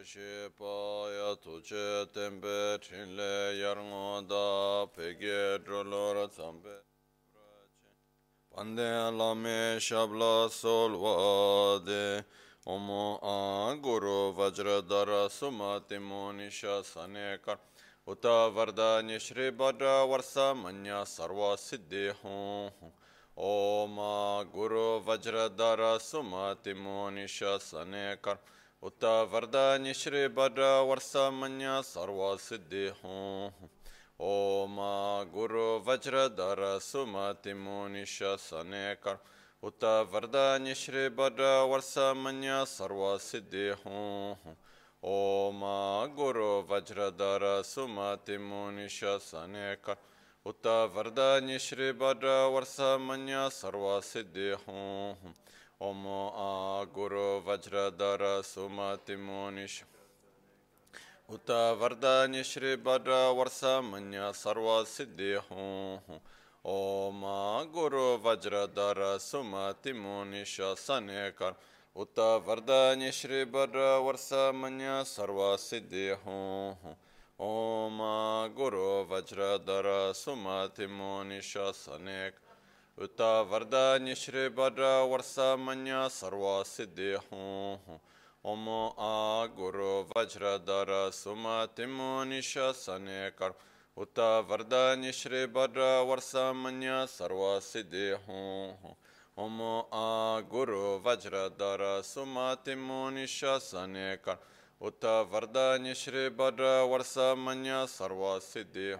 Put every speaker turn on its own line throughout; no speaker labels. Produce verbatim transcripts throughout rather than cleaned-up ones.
Shipaya tuche tempe chinle yarngoda pege drolora zambe Pande lame shabla solvade Omo a guru vajradara sumati monisha sanekar Uta vardanya shri badra varsa manya sarva siddhi hum Oma guru vajradara sumati monisha sanekar Uta vardanya shri badra varsa manya sarva siddhi hum Oma guru vajradara sumati monisha sanekar Uta vardanya shri badra varsa manya sarva siddhi hum Oma guru vajradara sumati monisha sanekar Uta vardanya shri badra varsa manya sarva siddhi hum Omo a guru vajradara sumati monisha Uta vardanya shri badra varsa manya sarva siddhi hum Oma guru vajradara sumati monisha sanekar Uta vardanya shri badra varsa manya sarva siddhi hum Oma guru vajradara sumati monisha sanekar Uta vardanya shri badra varsa manya sarva siddhi hum Omo a guru vajradara sumati monisha sanekar Uta vardanya shri badra varsa manya sarva siddhi hum Omo a guru vajradara sumati monisha sanekar Uta vardanya shri badra varsa manya sarva siddhi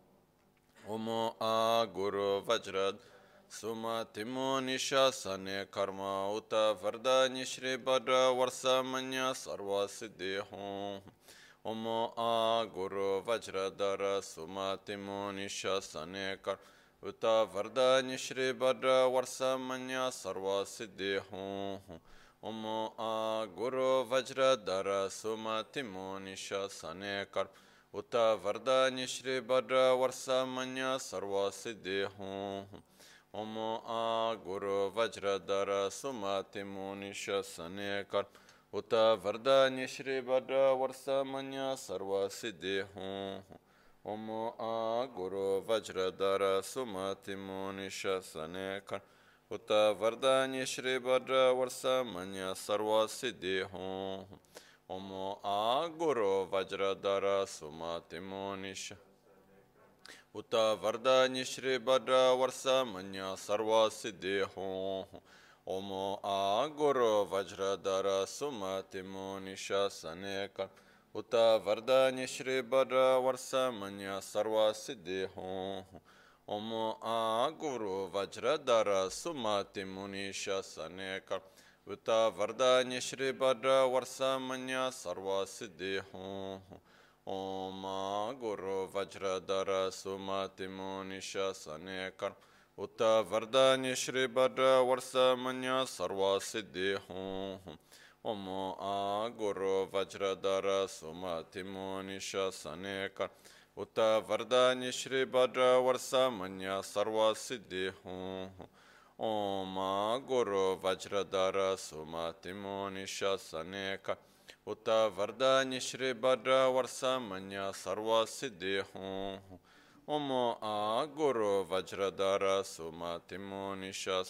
Omo a guru vajrad sumati monisha sane karma uta vardanya shri badra varsa manya sarva siddhi hum Omo a guru vajradara sumati monisha sane kar uta vardanya shri badra varsa manya sarva siddhi hum Omo a guru vajradara sumati monisha sane kar Uta vardanya shri badra varsa manya sarva siddhi hum Omo a guru vajradara sumati monisha sanekar Uta vardanya shri badra varsa manya sarva siddhi hum Omo a guru vajradara sumati monisha sanekar Uta vardanya shri badra varsa manya sarva siddhi hum Omo a guru vajradara sumati monisha Uta vardanya shri badra varsa manya sarva siddhi hum Omo a guru vajradara sumati monisha sanekar Uta vardanya shri badra varsa manya sarva siddhi hum Omo a guru vajradara sumati monisha sanekar Uta vardanya shri badra varsa manya sarva siddhi hum Om guru vajradara sumati monisha sanekar Uta vardanya shri badra varsa manya sarva siddhi hum Om a guru vajradara sumati monisha sanekar Uta vardanya shri badra varsa manya sarva siddhi hum Om guru vajradara sumati monisha sanekar Uta vardanya shri badra varsa manya sarva siddhi hum Omo a guru vajradara sumati monisha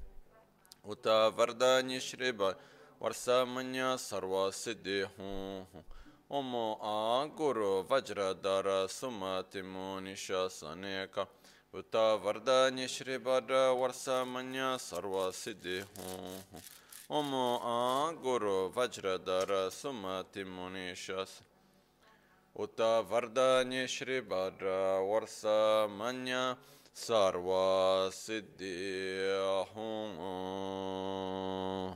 Uta vardanya shri badra varsa manya sarva siddhi hum Omo a guru vajradara sumati monisha sanekar Uta vardanya shri badra varsa manya sarva siddhi hum Omo a guru vajradara sumati monisha Uta vardanya shri badra varsa manya sarva siddhi hum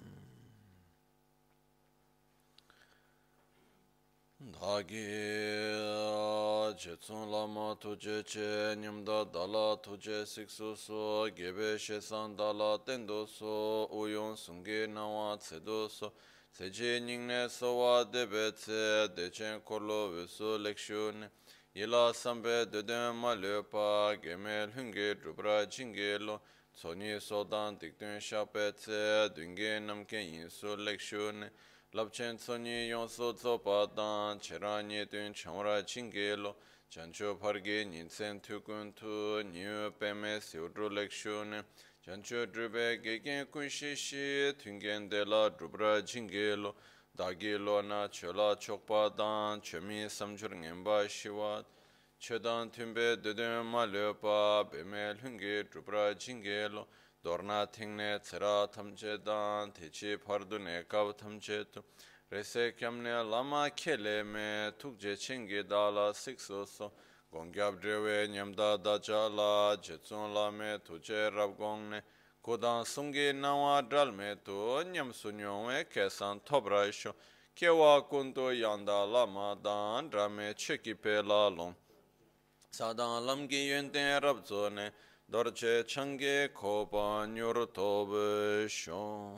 Dhagi jetsun lama tuje che nyamda dala tuje siksu so gebe shesan dala tendo so uyon sungi nawa tsedo so seje nyingne so wa debe tse dechen korlo visu lekshun yila sambe deden ma lepa gemel hungi drupra jingelo tsoni sodan dikdun shape tse dungi namken yinsu lekshun Lapchen Soni Yonso Zopatan, Cheranye Dun Chamra Chingelo, Chancho Parge Ninsen Tukun Tu, New Pemes Yudru Lekshune, Chancho Drube Gegen Kunshishi, Tungen de la Drubra Chingelo, Dagilo Na Chola Chokpadan, Chemi Samjur Ngemba Shiwat, Chedan Tumbe Dudum Malepa, Bemel Hungi Drubra Chingelo, Dorna Tingne Tsera Tamchedan, Tichi Pardune Kav Tamchetu, Rese Kamne Lama Kele Me, Tukje Chingi Dala Siksoso, Gongyab Drewe Nyamda Dajala, Jetsun Lame, Tuje Rabgongne, Kodan Sungi Nawa Dralme Tu, Nyam Sunyon, Kesan Tobraisho, Kewa Kunto Yanda Lama Dan, Drame Cheki Pelalon, Sadan Lamgi Yenten Rabzone, Dorje Change Kopa Nyur Tobe Shon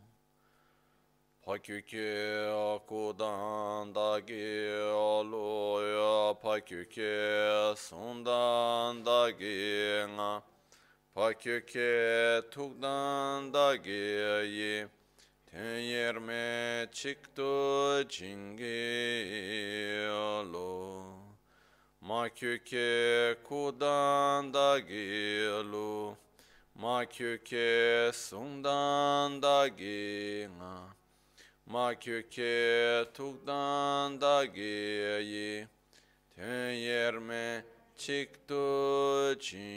Pakyuke Akudan Dagi Aloya Pakyuke Sundan Dagi Nga Pakyuke Tukdan Dagi Yi Tenyerme Chikto Jingi Alo Makyuke kudan da gilu, makyuke sundan da ginga, makyuke tukdan da giyi, tenyerme çıktı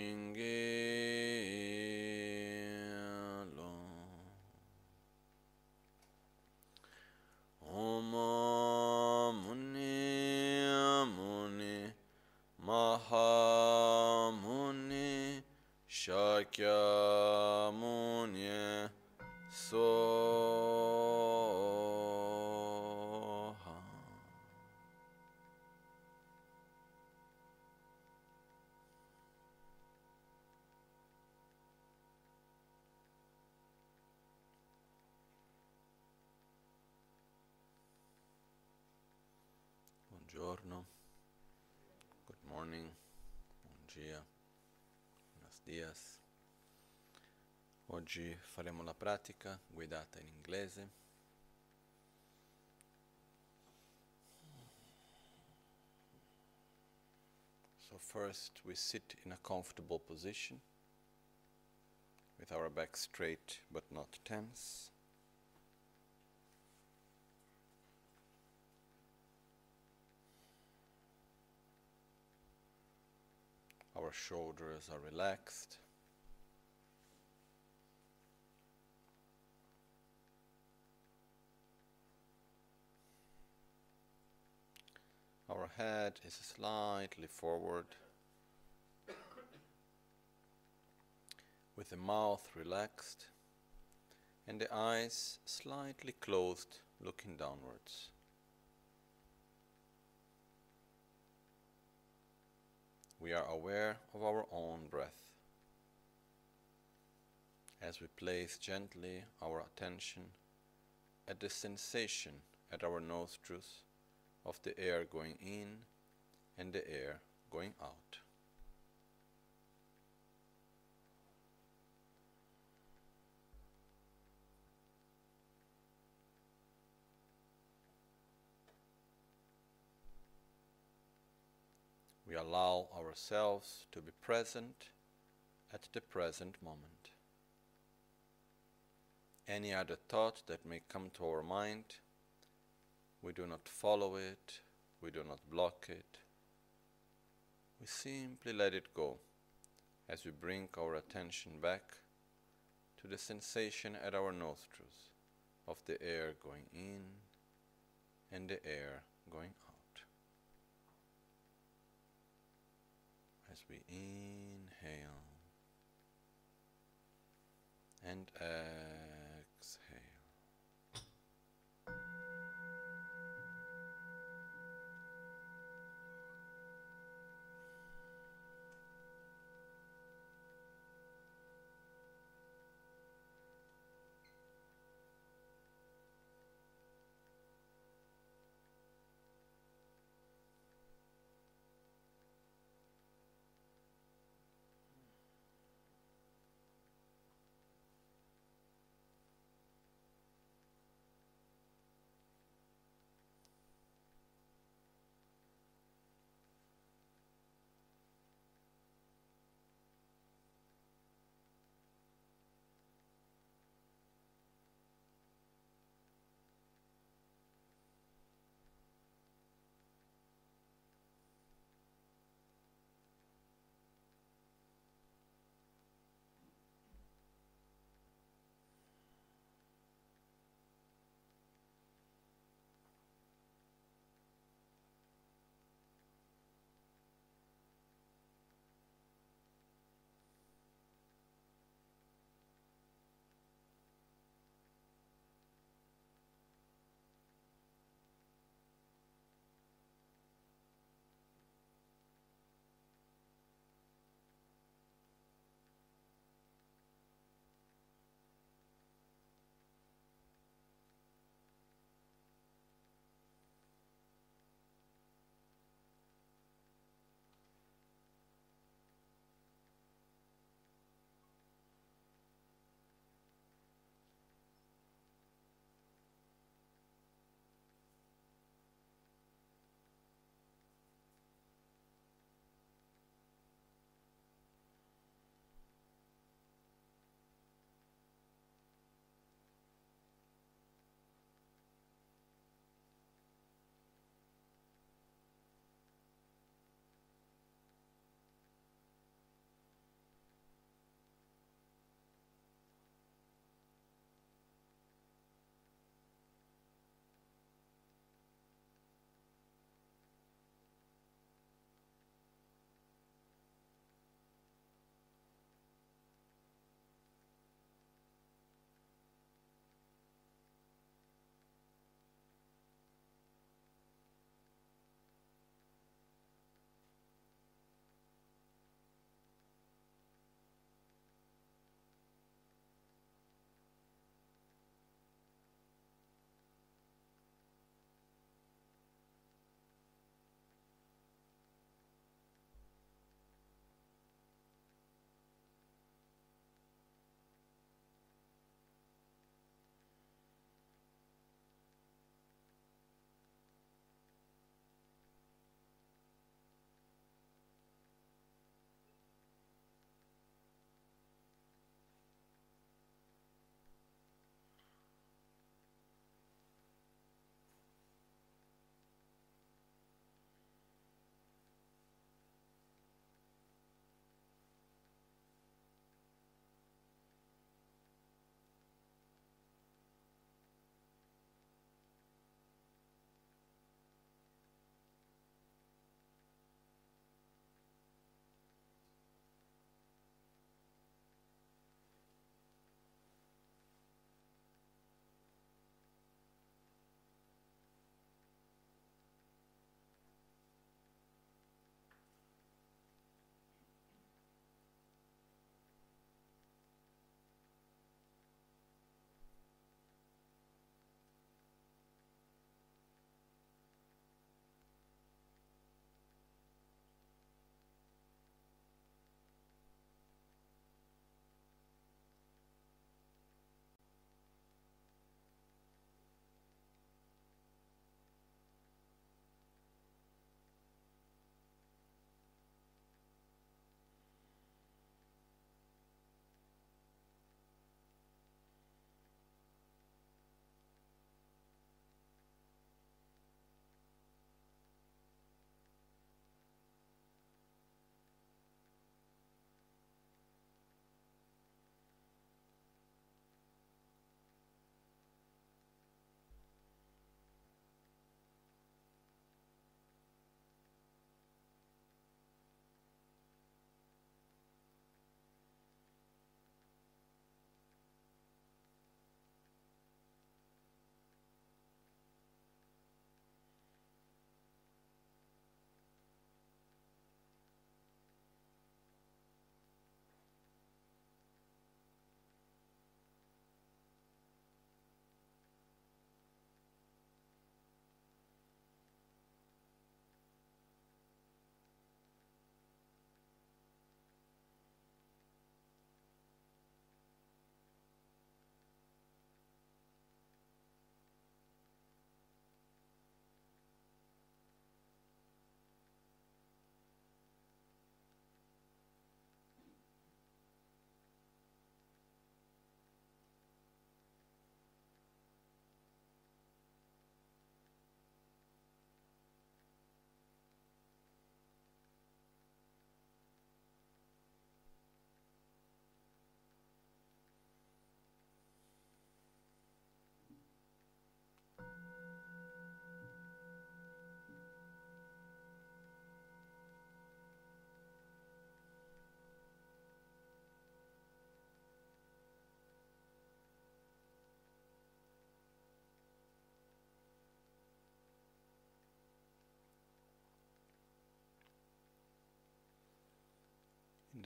çingilo. Om muni muni. Mahamuni Shakyamuni Soha. Buongiorno. Good morning, bom dia, buenos dias. Oggi faremo la pratica guidata in inglese. So first we sit in a comfortable position with our back straight but not tense. Our shoulders are relaxed. Our head is slightly forward, with the mouth relaxed and the eyes slightly closed, looking downwards. We are aware of our own breath as we place gently our attention at the sensation at our nostrils of the air going in and the air going out. We allow ourselves to be present at the present moment. Any other thought that may come to our mind, we do not follow it, we do not block it. We simply let it go as we bring our attention back to the sensation at our nostrils of the air going in and the air going out. As we inhale and exhale.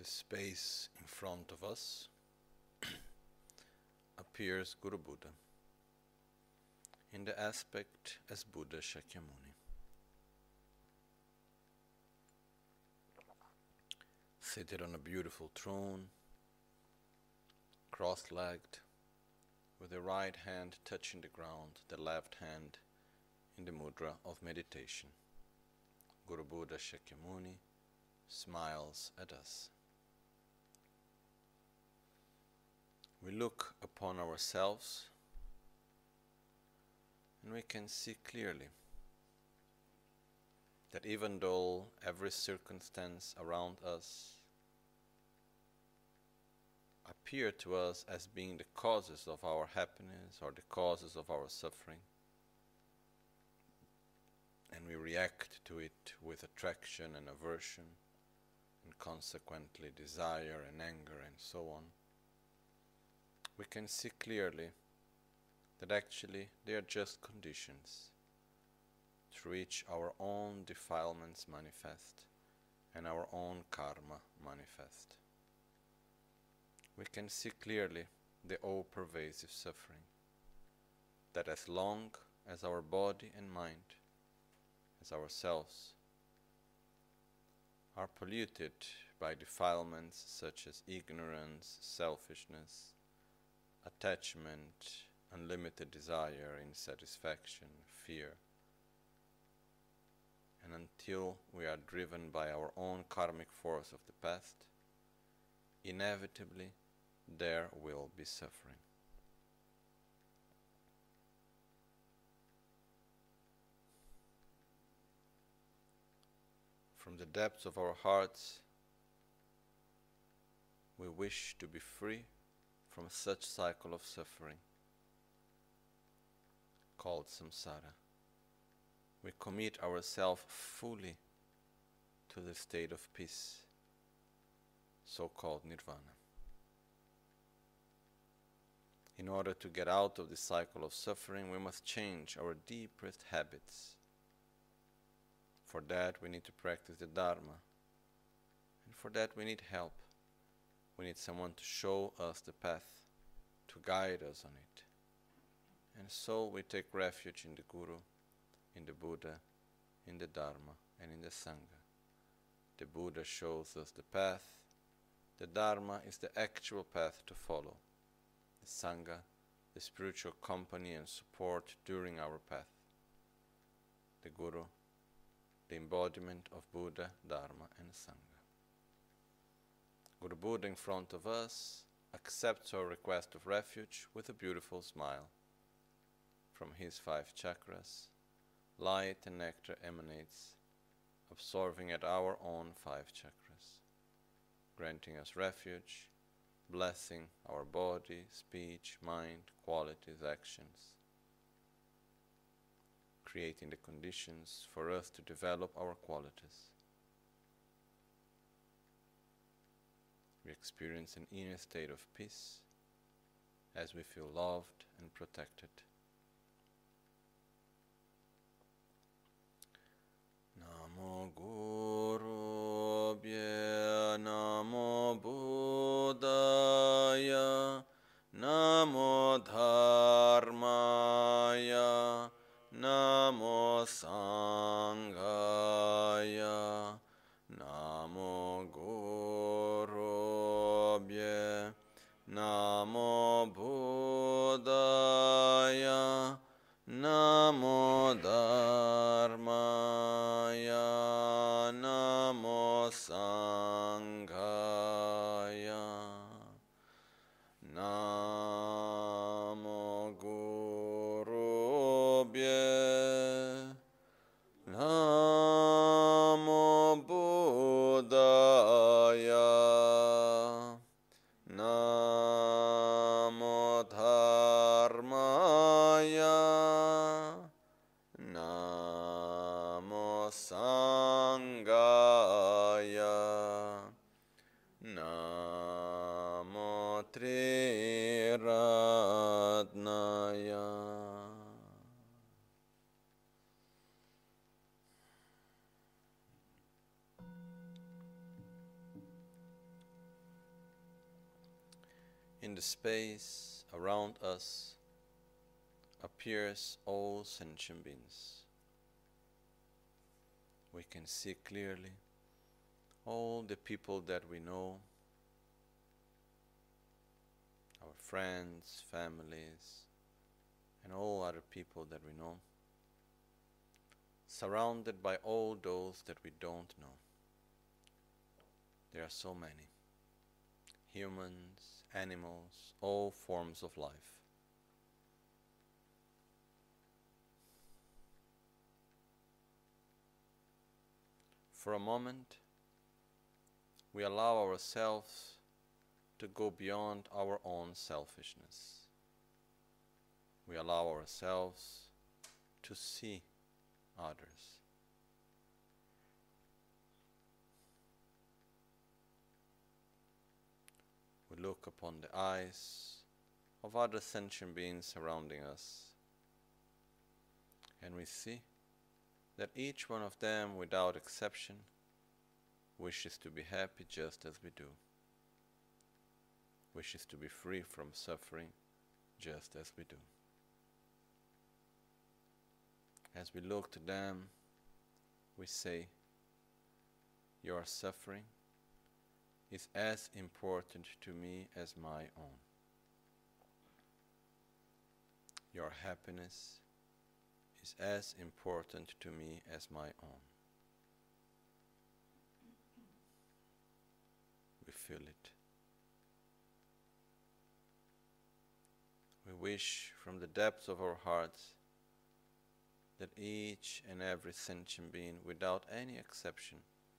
space in front of us appears Guru Buddha in the aspect as Buddha Shakyamuni. Seated on a beautiful throne, cross-legged, with the right hand touching the ground, the left hand in the mudra of meditation. Guru Buddha Shakyamuni smiles at us. We look upon ourselves and we can see clearly that even though every circumstance around us appear to us as being the causes of our happiness or the causes of our suffering, and we react to it with attraction and aversion, and consequently desire and anger and so on, we can see clearly that actually they are just conditions through which our own defilements manifest and our own karma manifest. We can see clearly the all-pervasive suffering, that as long as our body and mind, as ourselves, are polluted by defilements such as ignorance, selfishness, attachment, unlimited desire, insatisfaction, fear, and until we are driven by our own karmic force of the past, inevitably there will be suffering. From the depths of our hearts, we wish to be free from such cycle of suffering called samsara. We commit ourselves fully to the state of peace, so-called nirvana. In order to get out of the cycle of suffering, we must change our deepest habits. For that, we need to practice the Dharma. And for that, we need help. We need someone to show us the path, to guide us on it. And so we take refuge in the Guru, in the Buddha, in the Dharma, and in the Sangha. The Buddha shows us the path. The Dharma is the actual path to follow. The Sangha, the spiritual company and support during our path. The Guru, the embodiment of Buddha, Dharma, and Sangha. Guru Buddha in front of us accepts our request of refuge with a beautiful smile. From his five chakras, light and nectar emanates, absorbing at our own five chakras, granting us refuge, blessing our body, speech, mind, qualities, actions, creating the conditions for us to develop our qualities. We experience an inner state of peace as we feel loved and protected. Namo Guru Bhye, Namo Buddhaya, Namo Dharmaya, Namo Sanghaya, Namo Guru Bhye, Namo Buddhaya, Namo Dharmaya, Namo Sanghaya, Namo Guru Bhye, Namo Buddhaya, Namo Dharmaya, Namo Sanghaya, Namo Triratnaya. in the space around us appears all sentient beings. We can see clearly all the people that we know, our friends, families, and all other people that we know, surrounded by all those that we don't know. There are so many. Humans, animals, all forms of life. For a moment, we allow ourselves to go beyond our own selfishness. We allow ourselves to see others. We look upon the eyes of other sentient beings surrounding us, and we see that each one of them, without exception, wishes to be happy just as we do, wishes to be free from suffering just as we do. As we look to them, we say, your suffering is as important to me as my own. Your happiness is as important to me as my own. We feel it. We wish from the depths of our hearts that each and every sentient being, without any exception,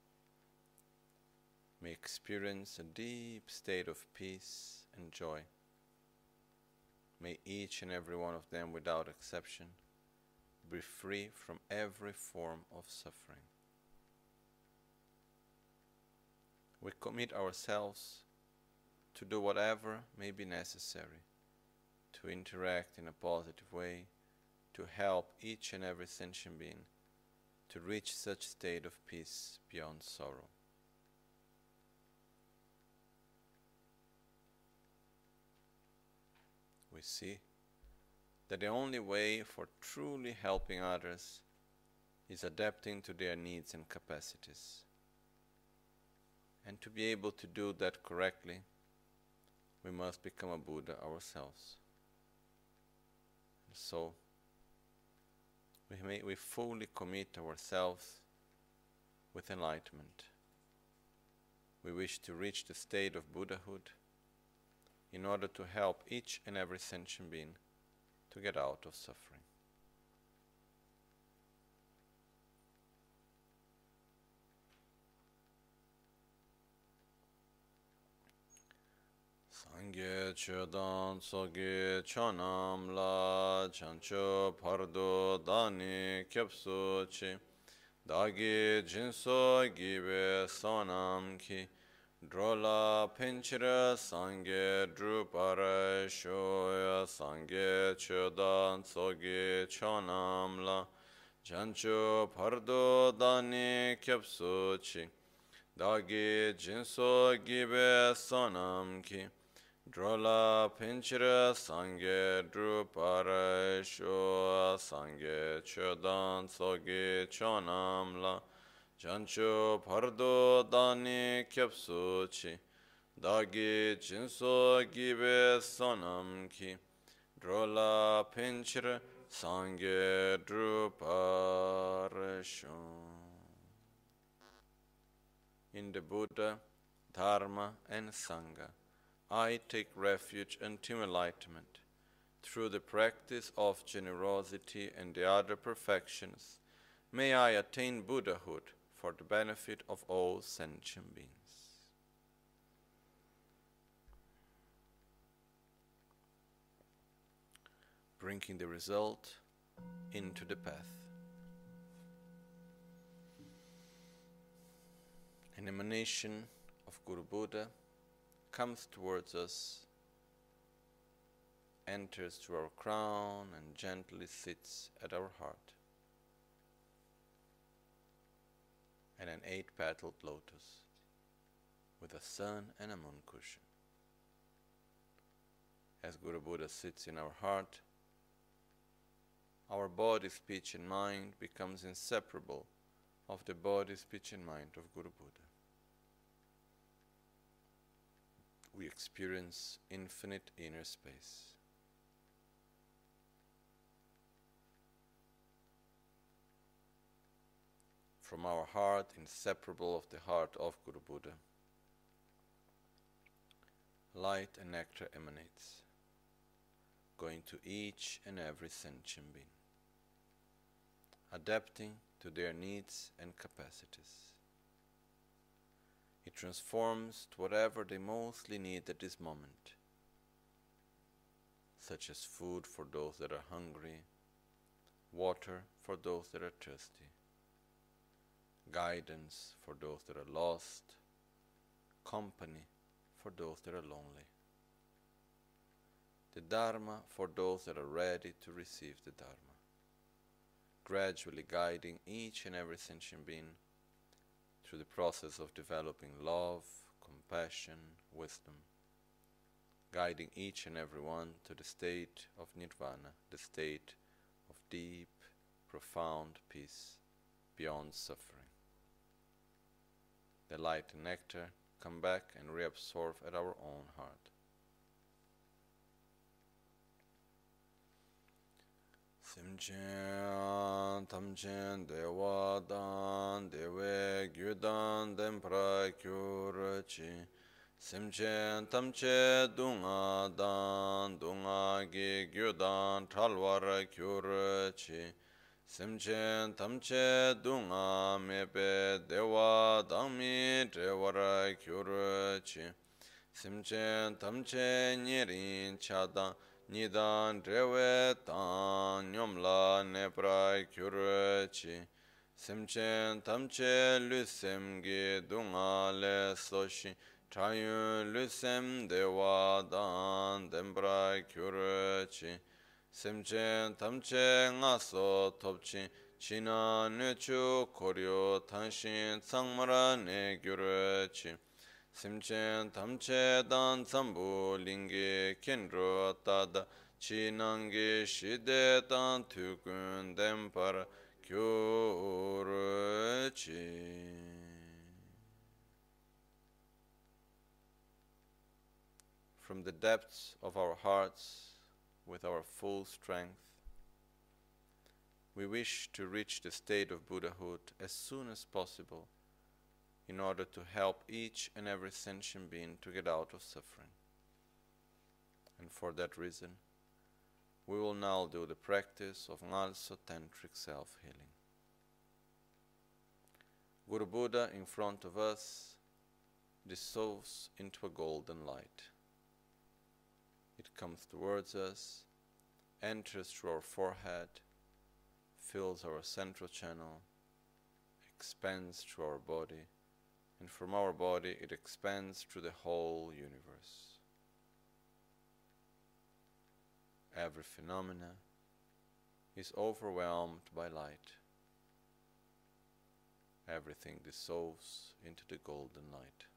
may experience a deep state of peace and joy. May each and every one of them, without exception, be free from every form of suffering. We commit ourselves to do whatever may be necessary to interact in a positive way, to help each and every sentient being to reach such state of peace beyond sorrow. We see that the only way for truly helping others is adapting to their needs and capacities. And to be able to do that correctly, we must become a Buddha ourselves. And so, we, may, we fully commit ourselves with enlightenment. We wish to reach the state of Buddhahood in order to help each and every sentient being to get out of suffering. Sangye chodan soge chonam la chancho pardo dani kyapso chi dagi jinso gibe sonam ki drola pinchira sangye drupara shoya sangye chodan soge chonam la chancho pardo dani kyapso chi dagi jinso gibe sonam ki drola pinchira sangye drupara shoya sangye chodan soge chonam la jancho pardo dani kyapsu chi dagi jinso gibe sonam ki drola pinchira sangye drupara shoya. In the Buddha, Dharma and Sangha, I take refuge until enlightenment. Through the practice of generosity and the other perfections, may I attain Buddhahood for the benefit of all sentient beings. Bringing the result into the path. An emanation of Guru Buddha comes towards us, enters through our crown and gently sits at our heart. And an eight-petaled lotus with a sun and a moon cushion. as Guru Buddha sits in our heart, our body, speech and mind becomes inseparable of the body, speech and mind of Guru Buddha. We experience infinite inner space. From our heart, inseparable of the heart of Guru Buddha, light and nectar emanates, going to each and every sentient being, adapting to their needs and capacities. It transforms to whatever they mostly need at this moment, such as food for those that are hungry, water for those that are thirsty, guidance for those that are lost, company for those that are lonely, the Dharma for those that are ready to receive the Dharma, gradually guiding each and every sentient being through the process of developing love, compassion, wisdom, guiding each and every one to the state of nirvana, the state of deep, profound peace beyond suffering. The light and nectar come back and reabsorb at our own heart. Simchen tamchen dewa dan dewe gyudan dempra kyurachi. Simchen tamche dunga dan dunga gi gyudan talwara kyurachi. Simchen tamche dunga mebe dewa dami dewara kyurachi. Simchen tamche nyirin chadan Nidan drewe tan nyomla nepra kyurachi. Simchen tamche lusem gi dunga le soshi. Chayun lusem dewa dan dembra kyurachi. Simchen tamche ngaso topchi. China nechu koryo tanshin tsangmara ne kyurachi. Simchen tamche dan tsambu lingi kendro tada chi nangi shide dan tukun dempar kyuruchi. From the depths of our hearts, with our full strength, we wish to reach the state of Buddhahood as soon as possible, in order to help each and every sentient being to get out of suffering. And for that reason, we will now do the practice of Ngalso Tantric self-healing. Guru Buddha in front of us dissolves into a golden light. It comes towards us, enters through our forehead, fills our central channel, expands through our body, and from our body it expands through the whole universe. Every phenomena is overwhelmed by light. Everything dissolves into the golden light.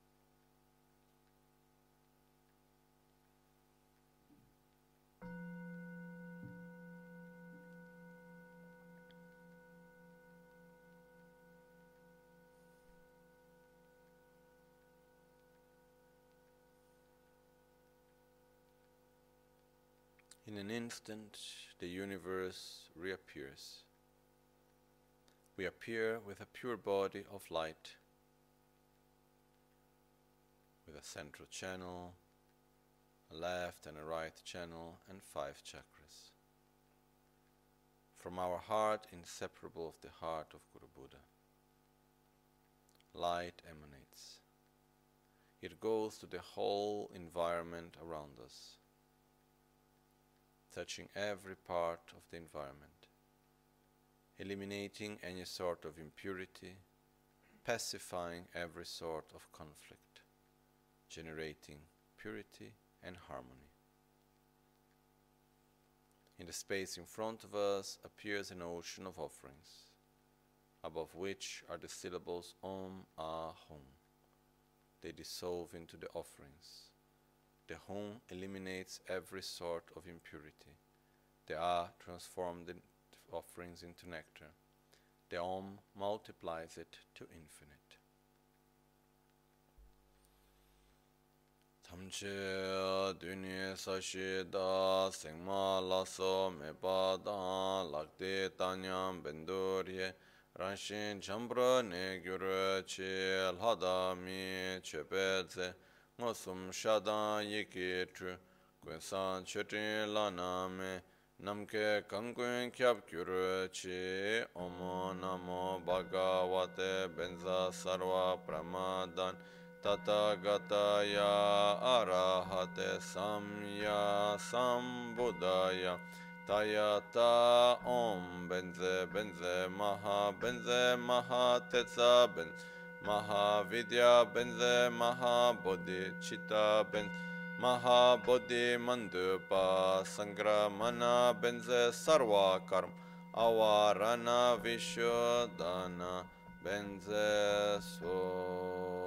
In an instant, the universe reappears. We appear with a pure body of light, with a central channel, a left and a right channel, and five chakras. From our heart, inseparable of the heart of Guru Buddha, light emanates. It goes to the whole environment around us, touching every part of the environment, eliminating any sort of impurity, pacifying every sort of conflict, generating purity and harmony. In the space in front of us appears an ocean of offerings, above which are the syllables Om Ah Hum. They dissolve into the offerings, The home eliminates every sort of impurity. The A transforms the offerings into nectar. The Om multiplies it to infinite. Tamche duni sashi da sengma laso meba da lakde tanyam bendurye ranshin chambra ne gyuru chi lhada mi chepeze ngosum shada yiki tru gwensan chetin lana me namke kangwen kyab gyuru chi omo namo bhagavate benza sarva pramadan Tathāgataya arahate samya sambuddhaya Tayata om benze benze maha benze maha tetsa benze maha vidya benze maha bodhi chitta benze maha bodhi mandupa sangramana benze sarva karma avarana vishodhana benze so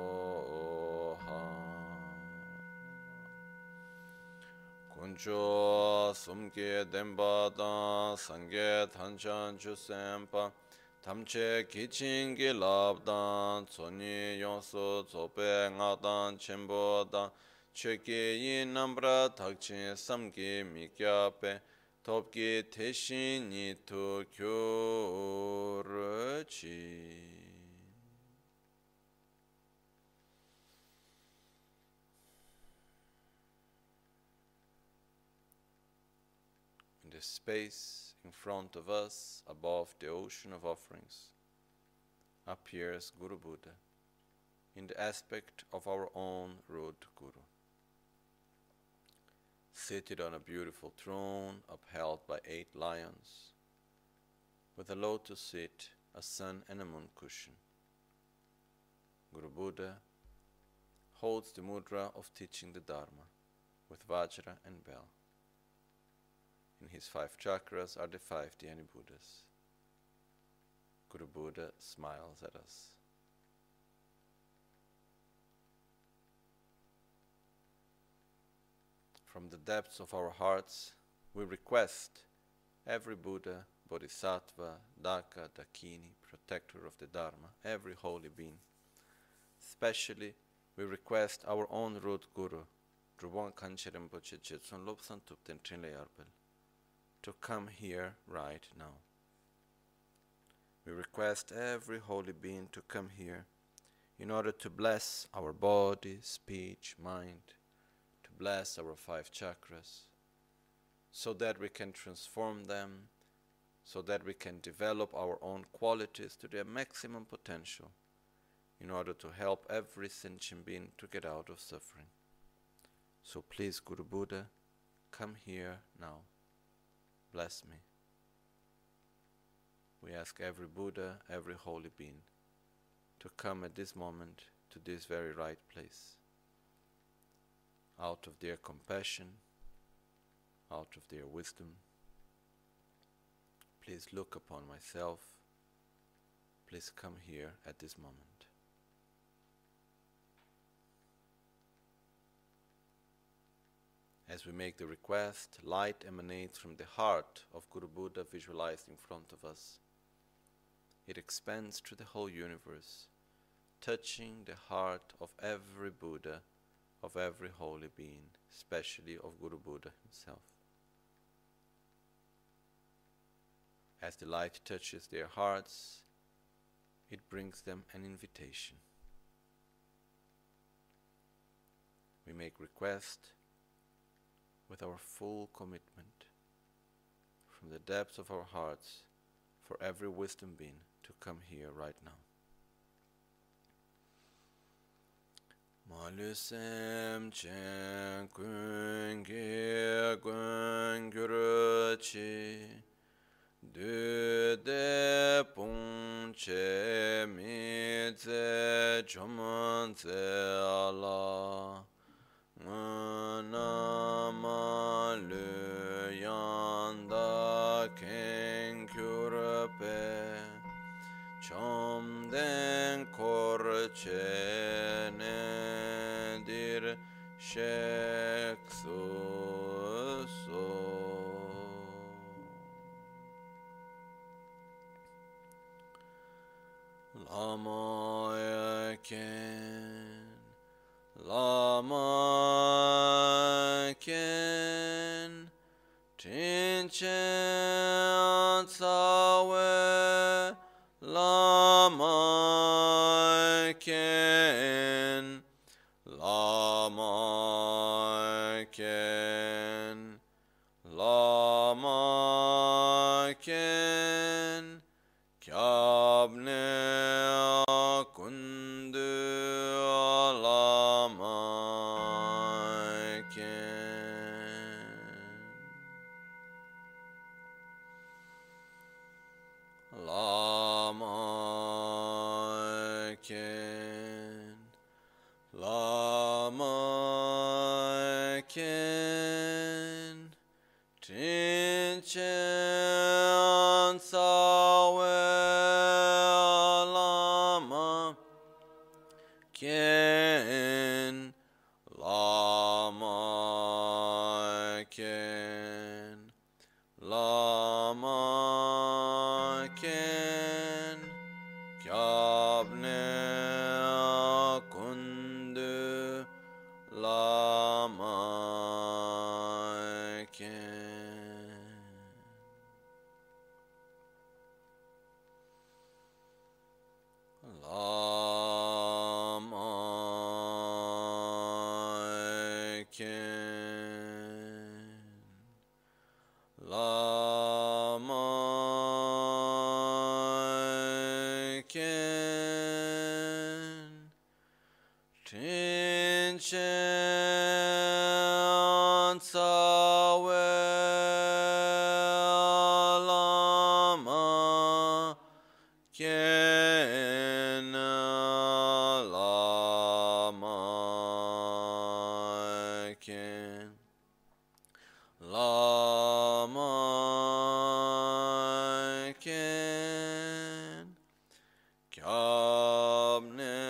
Kuncho sumke demba dan sangye tanchan chu sempa tamche kichin ki lab dan tsoni yonsu tsope nga dan chenpo dan cheke yin nambra takchin samki mikyape topki teshin nitu kyuruchi. The space in front of us, above the ocean of offerings, appears Guru Buddha in the aspect of our own root Guru, seated on a beautiful throne upheld by eight lions, with a lotus seat, a sun and a moon cushion. Guru Buddha holds the mudra of teaching the Dharma with Vajra and bell. In his five chakras are the five Dhyani Buddhas. Guru Buddha smiles at us. From the depths of our hearts, we request every Buddha, Bodhisattva, Daka, Dakini, protector of the Dharma, every holy being. Especially, we request our own root Guru, Drubon Kanche Rinpoche Jetsun Lobsan Tupten Trinle Yarbel, to come here right now. We request every holy being to come here in order to bless our body, speech, mind, to bless our five chakras, so that we can transform them, so that we can develop our own qualities to their maximum potential, in order to help every sentient being to get out of suffering. So please, Guru Buddha, come here now. Bless me. We ask every Buddha, every holy being, to come at this moment to this very right place, out of their compassion, out of their wisdom. Please look upon myself. Please come here at this moment. As we make the request, light emanates from the heart of Guru Buddha visualized in front of us. It expands through the whole universe, touching the heart of every Buddha, of every holy being, especially of Guru Buddha himself. As the light touches their hearts, it brings them an invitation. We make request with our full commitment from the depths of our hearts for every wisdom being to come here right now. Malusem chen kun ge kun gyuru chi du de pung che mi ze choman ze ala Nama lu yanda ken kyurpe chom den kor che ne dir she Lama Eken, Lama Eken, Tinchen Tsawe, Lama Eken, Lama Eken, Lama Ken, Kyabne Kundu Lama Ken, Lama Ken, Lama Ken, Tinchen Tsawe, Lama Ken, Lama Ken, Lama Ken, Kyabne Kundu Lama Ken, Lama Ken, Lama Ken, Tinchen Tsawe, Lama Ken, Lama Ken, Lama Ken, Kyabne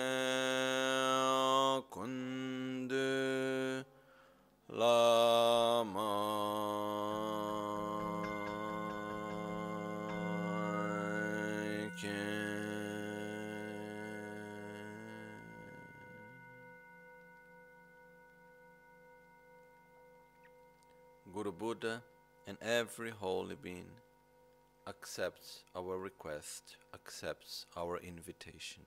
Kundu Lama Ken. Guru Buddha and every holy being accepts our request, accepts our invitation.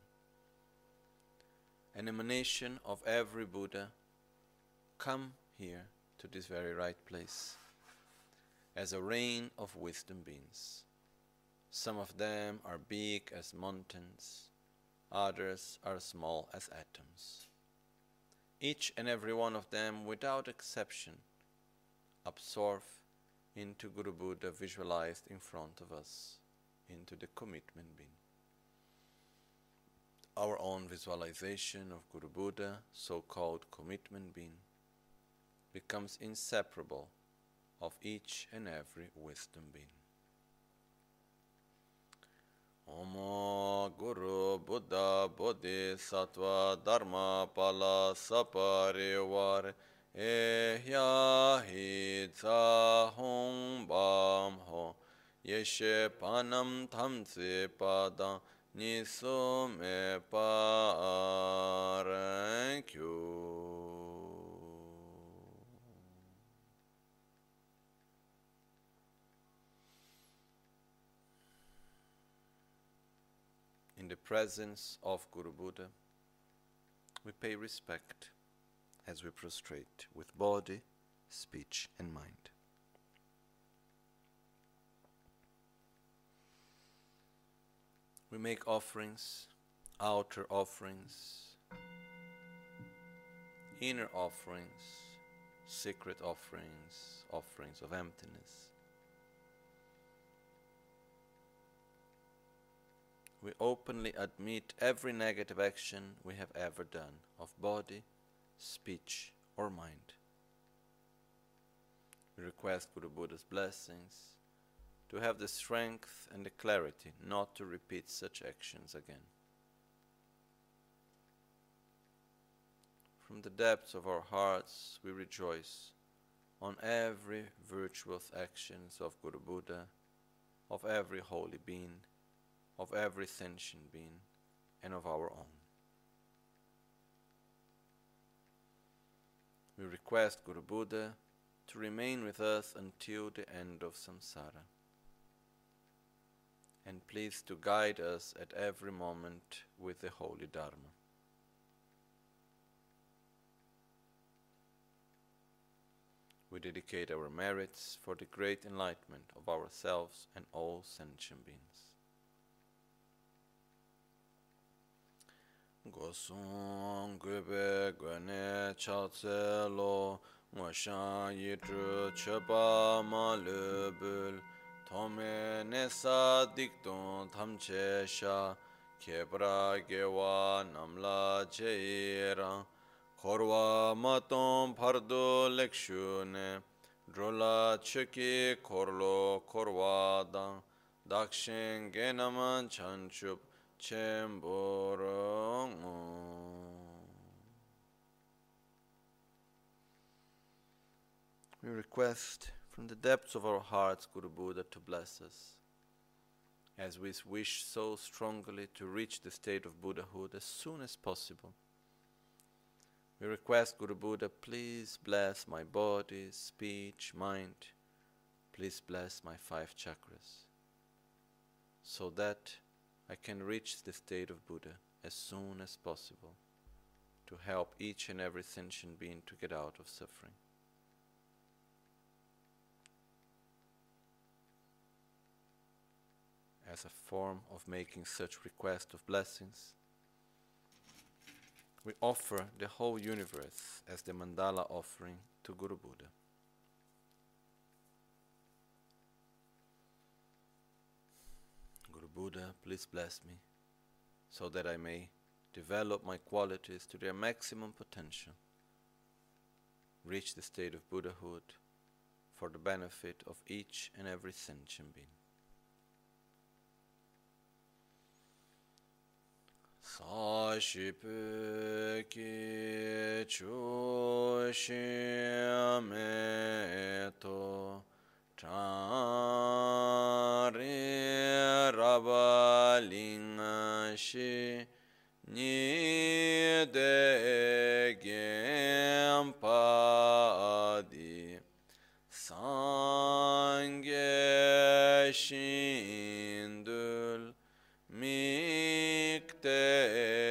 An emanation of every Buddha, come here to this very right place, as a rain of wisdom beings. Some of them are big as mountains, others are small as atoms. Each and every one of them, without exception, absorb into Guru Buddha visualized in front of us, into the commitment being. Our own visualization of Guru Buddha, so-called commitment being, becomes inseparable of each and every wisdom being. Om Guru Buddha Bodhisattva Dharma Pala Saparivar Ehya Hitsa Hong Bam Ho Yeshe Panam Tamse Pada Niso Me Parankyu. In the presence of Guru Buddha, we pay respect as we prostrate with body, speech, and mind. We make offerings, outer offerings, inner offerings, secret offerings, offerings of emptiness. We openly admit every negative action we have ever done of body, speech, or mind. We request Guru Buddha's blessings to have the strength and the clarity not to repeat such actions again. From the depths of our hearts, we rejoice on every virtuous actions of Guru Buddha, of every holy being, of every sentient being, and of our own. We request Guru Buddha to remain with us until the end of samsara, and please to guide us at every moment with the Holy Dharma. We dedicate our merits for the great enlightenment of ourselves and all sentient beings. Gosung gube gwene chatse lo ngoshan yidru cheba ma lebul tome nesa dikton tamche sha kebra gewa namla jeira korwa maton pardo lekshune drola cheki korlo korwa dan dakshin genaman chanchup We request from the depths of our hearts Guru Buddha to bless us, as we wish so strongly to reach the state of Buddhahood as soon as possible. We request Guru Buddha, please bless my body, speech, mind. Please bless my five chakras, so that I can reach the state of Buddha as soon as possible, to help each and every sentient being to get out of suffering. As a form of making such request of blessings, we offer the whole universe as the mandala offering to Guru Buddha. Guru Buddha, please bless me, so that I may develop my qualities to their maximum potential, reach the state of Buddhahood for the benefit of each and every sentient being. Sāshipē ki chūshīyame to chāri rabalingāshī nidegem pādi sāngye shindul mikte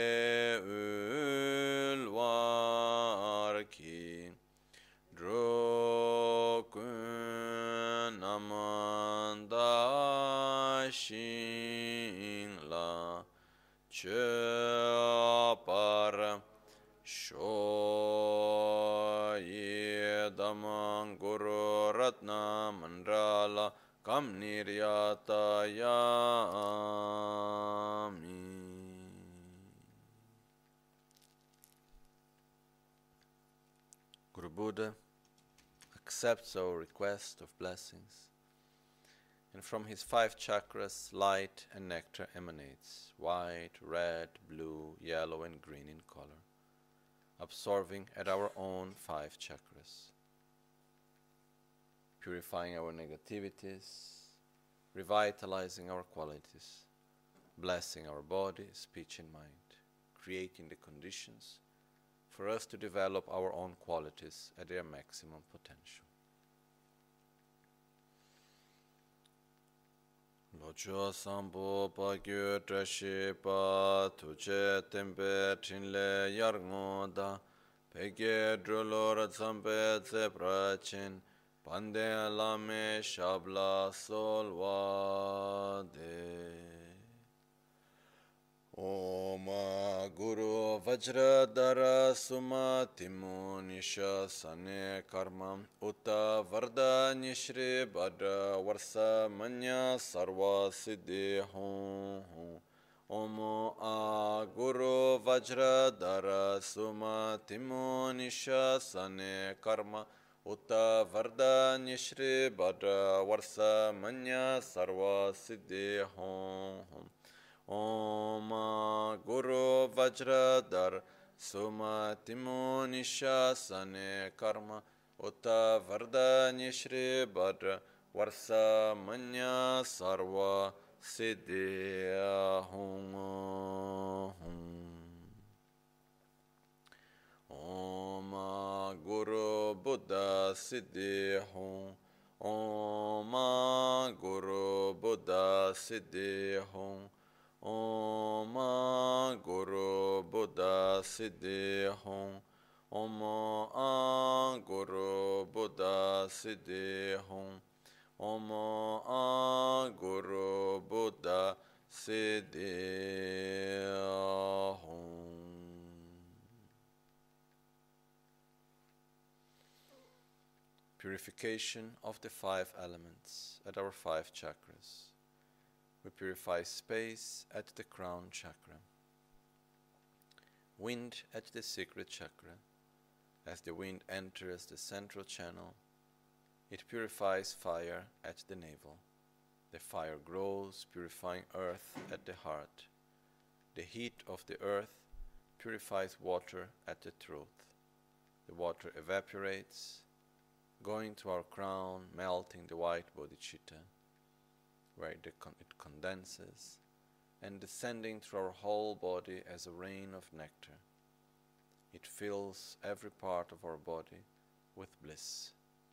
ulvarki drokun amanda shingla chapar shoyedamang guru ratna mandala kam niryatayami. Guru Buddha accepts our request of blessings, and from his five chakras light and nectar emanates, white, red, blue, yellow and green in color, absorbing at our own five chakras, purifying our negativities, revitalizing our qualities, blessing our body, speech and mind, creating the conditions for us to develop our own qualities at their maximum potential. Locho sambo pa gyu trashi pa tuche tempe chinle yarngoda peke drolor zampe tse prachin pande lame shabla solvade. Om Guru Vajradhara Sumatimu Nisha Sane Karma Uta Varda Nishri Bhadra Varsa Manya Sarva Siddhi Hum Om A Guru Vajradhara Sumatimu Nisha Sane Karma Uta Varda Nishri Bhadra Varsa Manya Sarva Siddhi Hum Om Guru Vajradhar Sumatimu Nishasane Karma Uta Varda Nishri Bhadra Varsa Manya Sarva Siddhi Hum Siddhi Hum. Om Guru Buddha Siddhi Hum. Om Guru Buddha Siddhi Hum. Om Guru Buddha Siddhi Hum. Om Guru Buddha Siddhi Hum. Purification of the five elements at our five chakras. We purify space at the crown chakra, wind at the secret chakra. As the wind enters the central channel, it purifies fire at the navel. The fire grows, purifying earth at the heart. The heat of the earth purifies water at the throat. The water evaporates, going to our crown, melting the white bodhicitta, where it, con it condenses, and descending through our whole body as a rain of nectar. It fills every part of our body with bliss.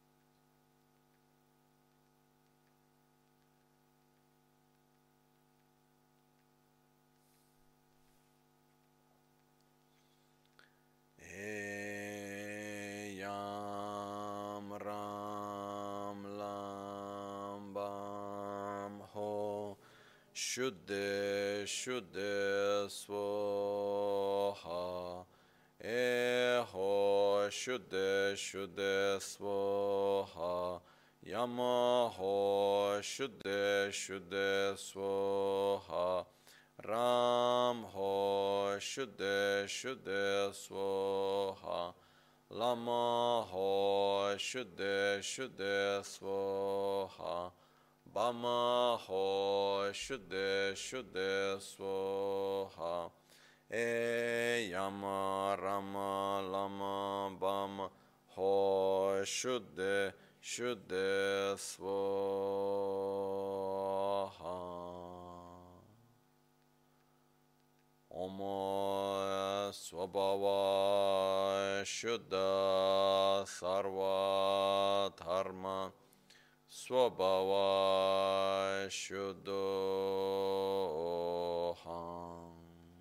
Eyam Ram Lam Bam Ho Shuddhe Shuddhe Swaha Eho Shuddhe Shuddhe Swaha Yamaho Shuddhe Shuddhe Swaha Ram Ho Shuddhe Shuddhe Swaha Lama Ho Shuddhe Shuddhe Swaha Bama Ho Shuddhe Shuddhe Swaha E Yama Rama Lama Bama Ho Shuddhe Shuddhe Swaha Om Swabhava Shuddha Sarva Dharma Swabhava Shuddhoham.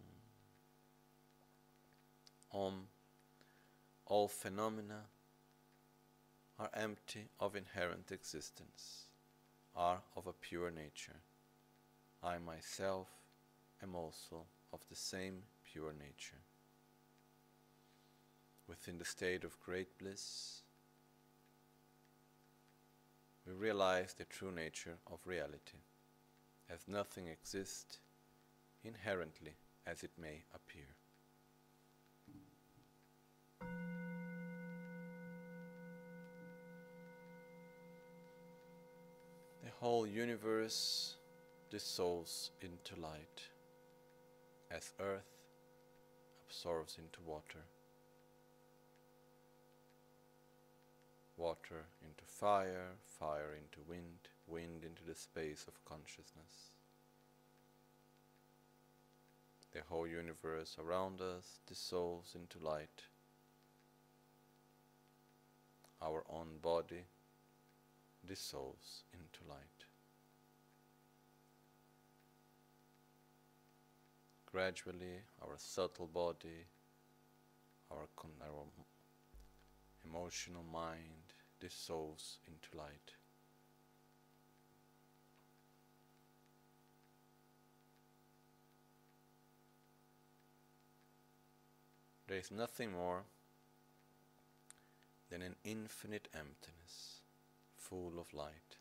Om. All phenomena are empty of inherent existence, are of a pure nature. I myself am also of the same pure nature. Within the state of great bliss, we realize the true nature of reality, as nothing exists inherently as it may appear. The whole universe dissolves into light, as earth absorbs into water, water into fire, fire into wind, wind into the space of consciousness. The whole universe around us dissolves into light. Our own body dissolves into light. Gradually, our subtle body, our, con our emotional mind dissolves into light. There is nothing more than an infinite emptiness, full of light.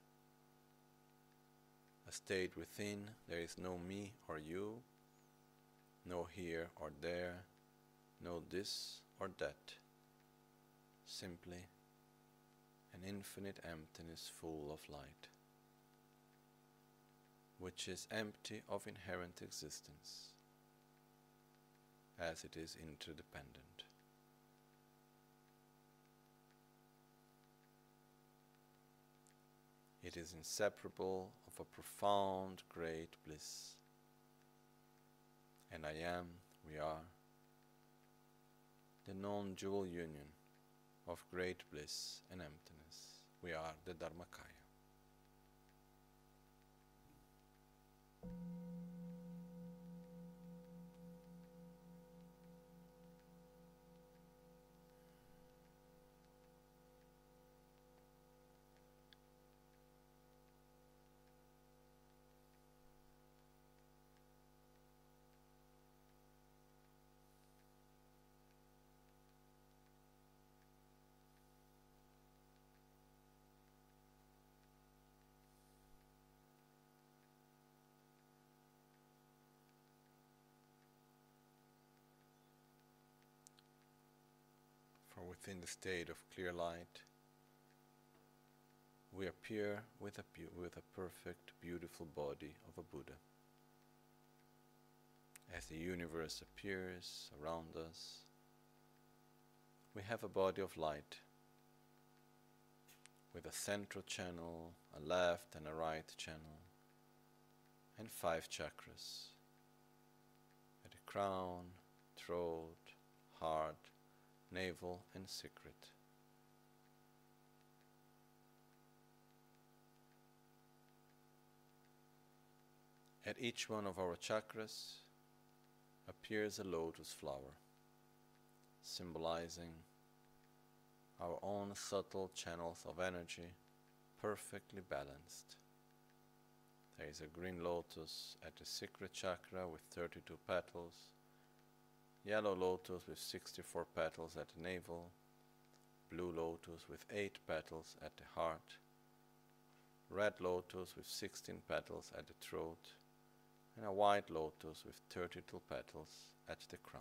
A state within there is no me or you, no here or there, no this or that. Simply an infinite emptiness full of light, which is empty of inherent existence, as it is interdependent. It is inseparable of a profound, great bliss. And I am, we are, the non-dual union of great bliss and emptiness. We are the Dharmakaya. Within the state of clear light, we appear with a, with a perfect, beautiful body of a Buddha. As the universe appears around us, we have a body of light with a central channel, a left and a right channel, and five chakras at the crown, throat, heart, navel, and secret. At each one of our chakras appears a lotus flower, symbolizing our own subtle channels of energy, perfectly balanced. There is a green lotus at the secret chakra with thirty-two petals, yellow lotus with sixty-four petals at the navel, blue lotus with eight petals at the heart, red lotus with sixteen petals at the throat, and a white lotus with thirty-two petals at the crown.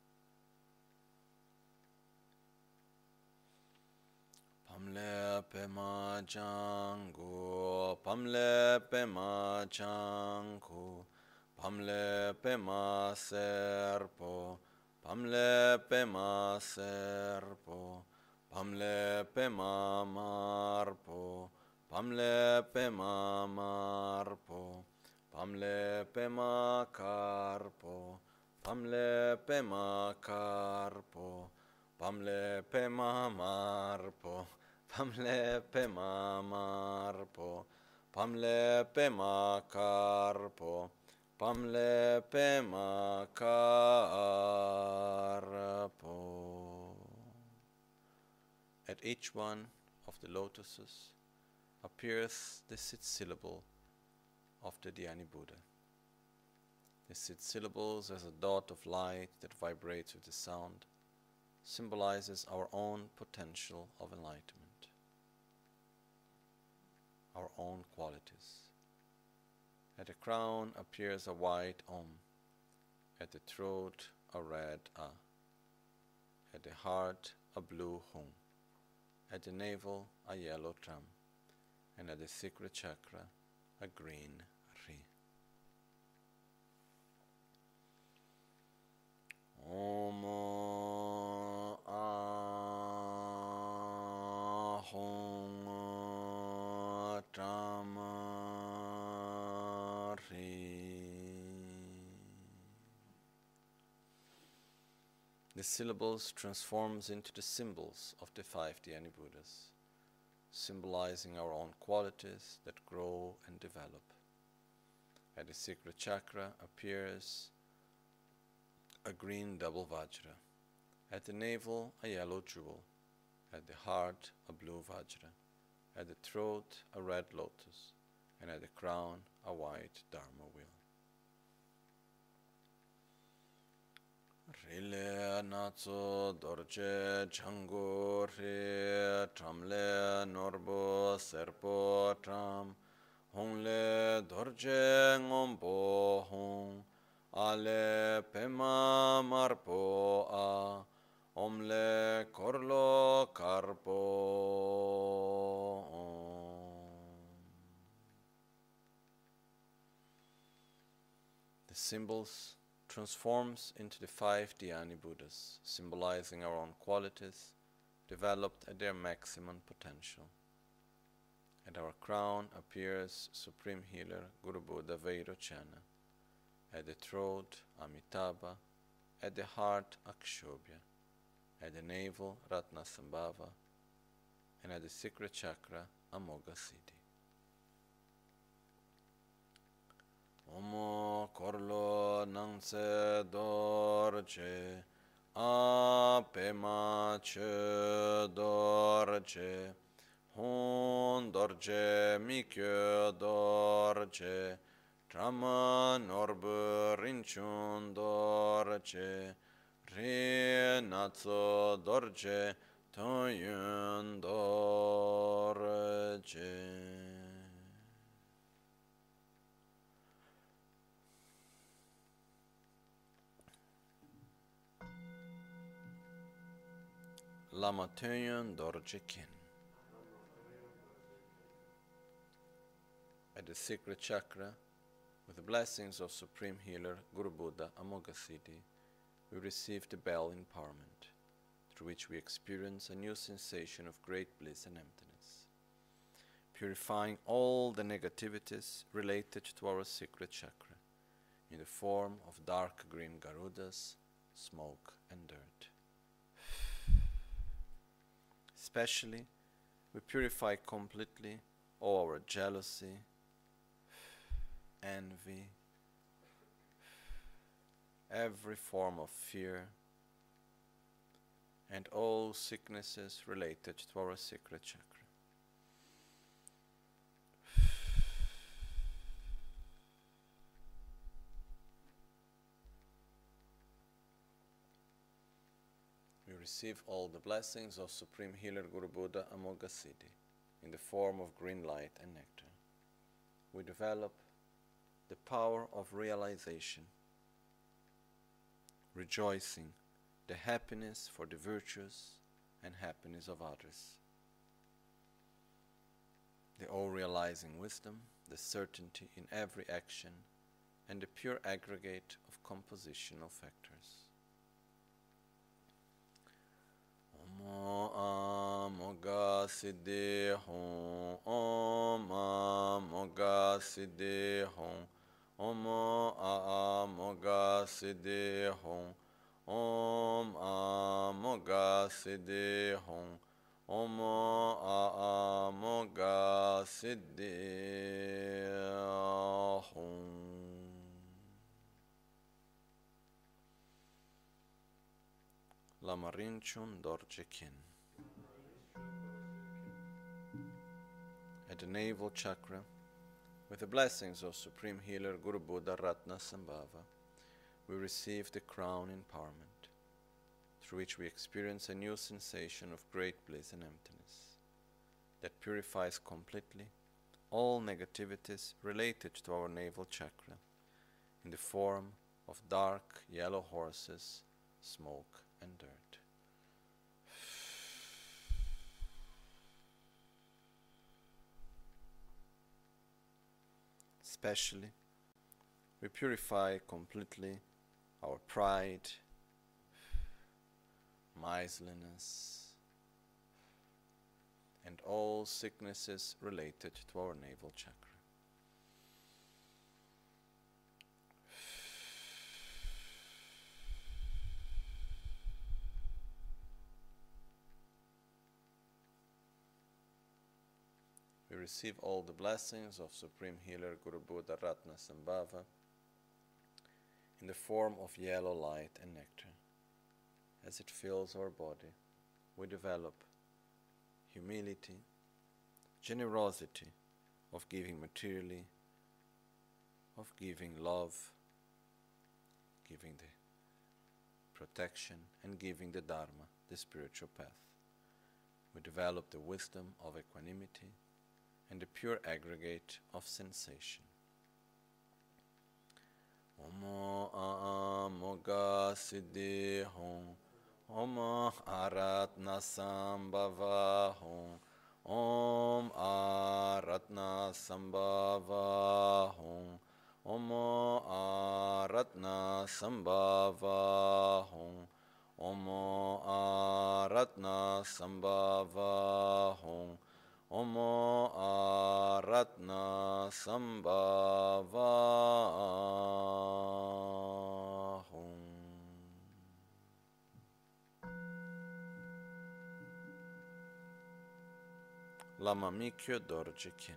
Pamle pema jangu, pamle pema jangu, pamle pema serpo, pamle pema serpo, pamle pema marpo, pamle pema marpo, pamle pema carpo, pamle pema carpo, pamle pema marpo, pamle pema marpo, pamle pema carpo, pamle pema carpo. At each one of the lotuses appears the six syllable of the Dhyani Buddha. The six syllables as a dot of light that vibrates with the sound symbolizes our own potential of enlightenment, our own qualities. At the crown appears a white Om, at the throat a red A, at the heart a blue Hum, at the navel a yellow Tram, and at the secret chakra a green Ri. Om Ahum Tram The syllables transforms into the symbols of the five Dhyani Buddhas, symbolizing our own qualities that grow and develop. At the secret chakra appears a green double Vajra, at the navel a yellow jewel, at the heart a blue Vajra, at the throat a red lotus, and at the crown a white Dharma wheel. Rile natso dorje chango re tramle norbo serpo tram hongle dorje ngompo hong ale pema marpo a omle korlo karpo om. The symbols transforms into the five Dhyani Buddhas, symbolizing our own qualities, developed at their maximum potential. At our crown appears Supreme Healer Guru Buddha Vairocana, at the throat Amitabha, at the heart Akshobhya, at the navel Ratnasambhava, and at the secret chakra Amoga Siddhi. Omo korlo nangse dorje, apema che dorje, hon dorje mikyo dorje, trama norbu rinchun dorje, re natso dorje, toyun dorje. Lama Töngyön Dorje Kin. At the secret chakra, with the blessings of Supreme Healer Guru Buddha Amoghasiddhi, we receive the bell empowerment, through which we experience a new sensation of great bliss and emptiness, purifying all the negativities related to our secret chakra, in the form of dark green Garudas, smoke and dirt. Especially, we purify completely all our jealousy, envy, every form of fear, and all sicknesses related to our secret chakra. We receive all the blessings of Supreme Healer Guru Buddha Amoghasiddhi in the form of green light and nectar. We develop the power of realization, rejoicing the happiness for the virtues and happiness of others, the all-realizing wisdom, the certainty in every action, and the pure aggregate of compositional factors. Om Amoga Siddhi Hon, Om Amoga Siddhi Hon, Om Amoga Siddhi Hon, Om Amoga Siddhi Hon, Om Amoga Siddhi Hon. Lama Rinchun Dorje Kin. At the navel chakra, with the blessings of Supreme Healer Guru Buddha Ratnasambhava, we receive the crown empowerment, through which we experience a new sensation of great bliss and emptiness, that purifies completely all negativities related to our navel chakra, in the form of dark yellow horses, smoke, and dirt. Especially, we purify completely our pride, miserliness, and all sicknesses related to our navel chakra. We receive all the blessings of Supreme Healer Guru Buddha Ratnasambhava in the form of yellow light and nectar. As it fills our body, we develop humility, generosity of giving materially, of giving love, giving the protection, and giving the Dharma, the spiritual path. We develop the wisdom of equanimity and the pure aggregate of sensation. Om Amoga Siddhi Hon, Om Aratnasambhava Hon, Om Aratnasambhava Hon, Om Aratnasambhava Hon, Om Aratnasambhava Hon, Om Aratnasambhava Hon. Lama Mikyo Dorje Kin.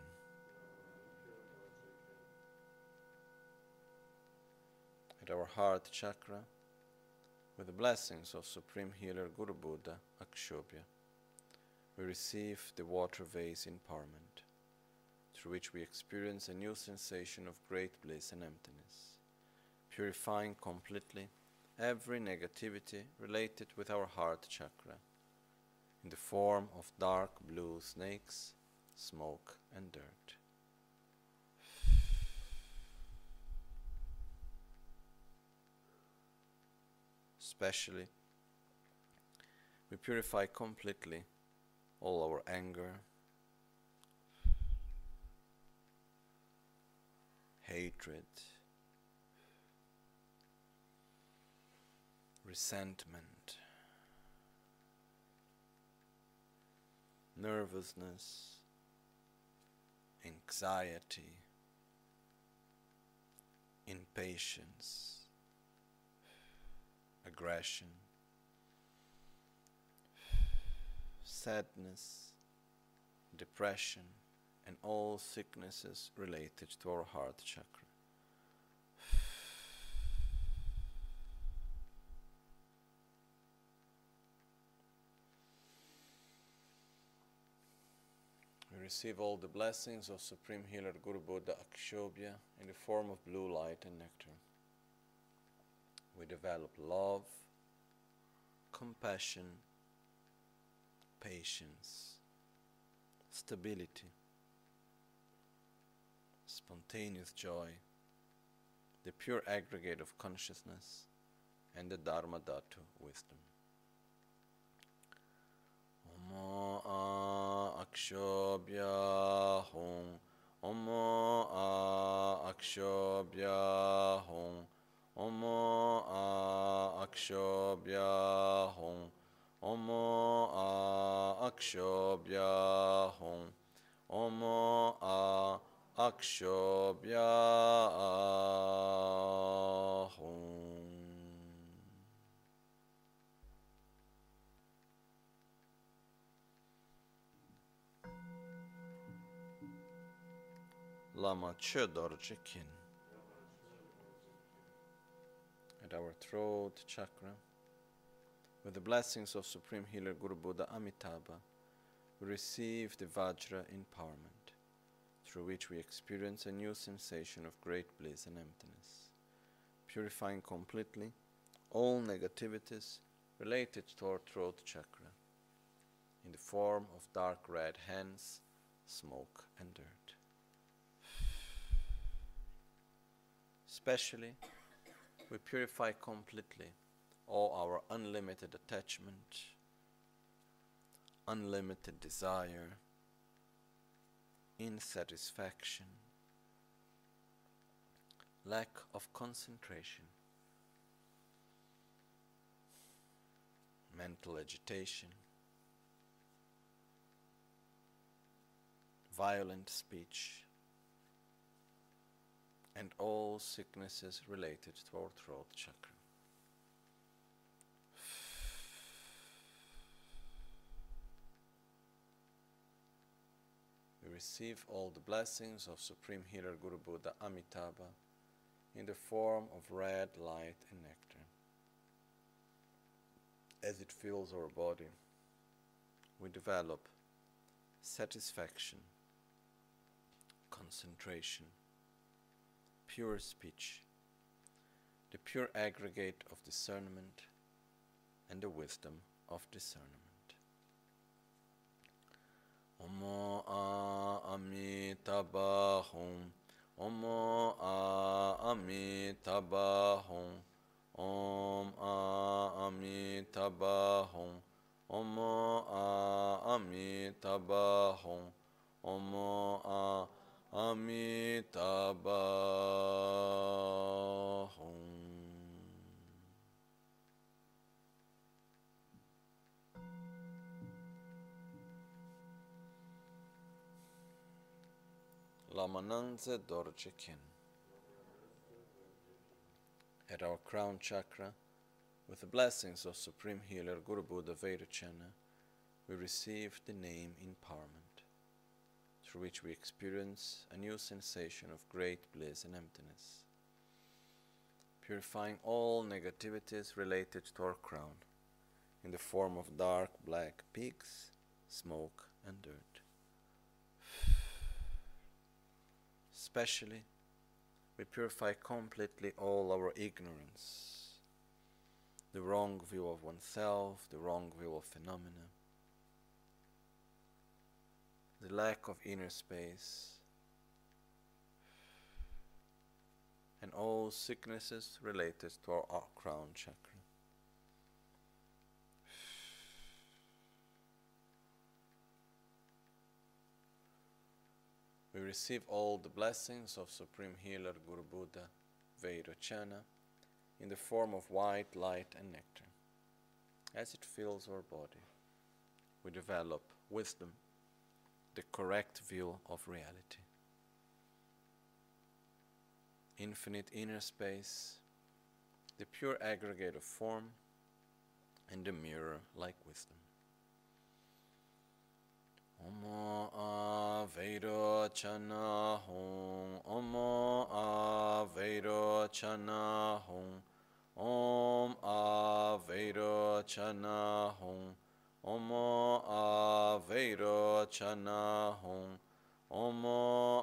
At our heart chakra, with the blessings of Supreme Healer Guru Buddha Akshobhya, we receive the water vase empowerment, through which we experience a new sensation of great bliss and emptiness, purifying completely every negativity related with our heart chakra, in the form of dark blue snakes, smoke and dirt. Especially, we purify completely all our anger, hatred, resentment, nervousness, anxiety, impatience, aggression, sadness, depression, and all sicknesses related to our heart chakra. We receive all the blessings of Supreme Healer Guru Buddha Akshobhya in the form of blue light and nectar. We develop love, compassion, patience, stability, spontaneous joy, the pure aggregate of consciousness, and the Dharma Dhatu wisdom. Omo a Akshobhya Hum, Omo a Akshobhya Hum, Omo a Akshobhya Hum, Omo a Akshobhya Hum, Omo a Akshobhya Hum. Lama Che Dorje Kin. At our throat chakra, with the blessings of Supreme Healer Guru Buddha Amitabha, we receive the Vajra empowerment, through which we experience a new sensation of great bliss and emptiness, purifying completely all negativities related to our throat chakra, in the form of dark red hands, smoke and dirt. Especially, we purify completely all our unlimited attachment, unlimited desire, insatisfaction, lack of concentration, mental agitation, violent speech, and all sicknesses related to our throat chakra. We receive all the blessings of Supreme Healer Guru Buddha Amitabha in the form of red light and nectar. As it fills our body, we develop satisfaction, concentration, pure speech, the pure aggregate of discernment, and the wisdom of discernment. Omo a Amitabha Hum, Omo a Amitabha Hum, Om a Amitabha Hum, Omo a Amitabha Hum, Omo a Amitabha Hum. Lama Nangze Dorje Kin. At our crown chakra, with the blessings of Supreme Healer Guru Buddha Vairocana, we receive the name empowerment, after which we experience a new sensation of great bliss and emptiness, purifying all negativities related to our crown in the form of dark black peaks, smoke and dirt. Especially, we purify completely all our ignorance, the wrong view of oneself, the wrong view of phenomena, the lack of inner space, and all sicknesses related to our, our crown chakra. We receive all the blessings of Supreme Healer Guru Buddha Vairocana in the form of white light and nectar. As it fills our body, we develop wisdom, the correct view of reality. Infinite inner space, the pure aggregate of form, and the mirror like wisdom. Omo Avairocana Hum, Omo Avairocana Hum, Om Avairocana Hum, Omo Avairocana Hum, Omo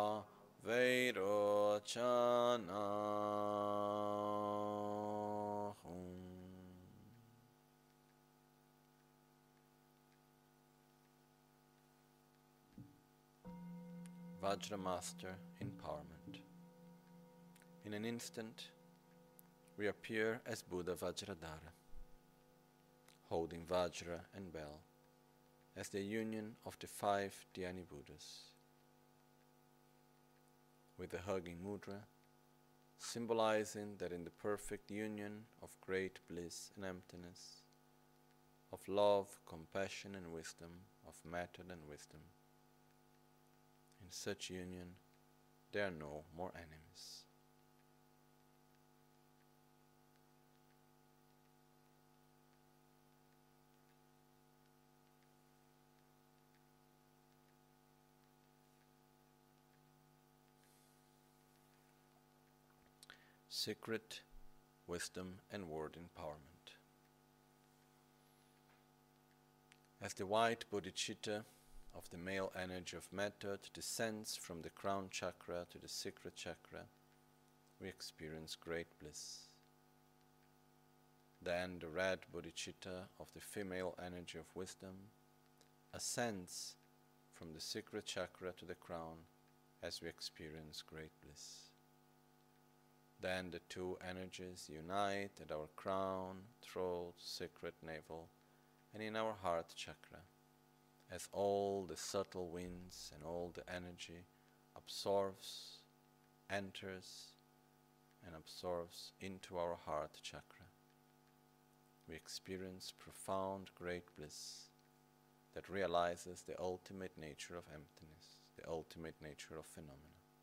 Avairocana Hum. Vajra Master Empowerment. In an instant, we appear as Buddha Vajradhara, holding Vajra and bell as the union of the five Dhyani Buddhas, with the hugging mudra, symbolizing that in the perfect union of great bliss and emptiness, of love, compassion and wisdom, of method and wisdom, in such union there are no more enemies. Secret wisdom and word empowerment. As the white bodhicitta of the male energy of method descends from the crown chakra to the secret chakra, we experience great bliss. Then the red bodhicitta of the female energy of wisdom ascends from the secret chakra to the crown as we experience great bliss. Then the two energies unite at our crown, throat, secret navel, and in our heart chakra, as all the subtle winds and all the energy absorbs, enters, and absorbs into our heart chakra. We experience profound great bliss that realizes the ultimate nature of emptiness, the ultimate nature of phenomena.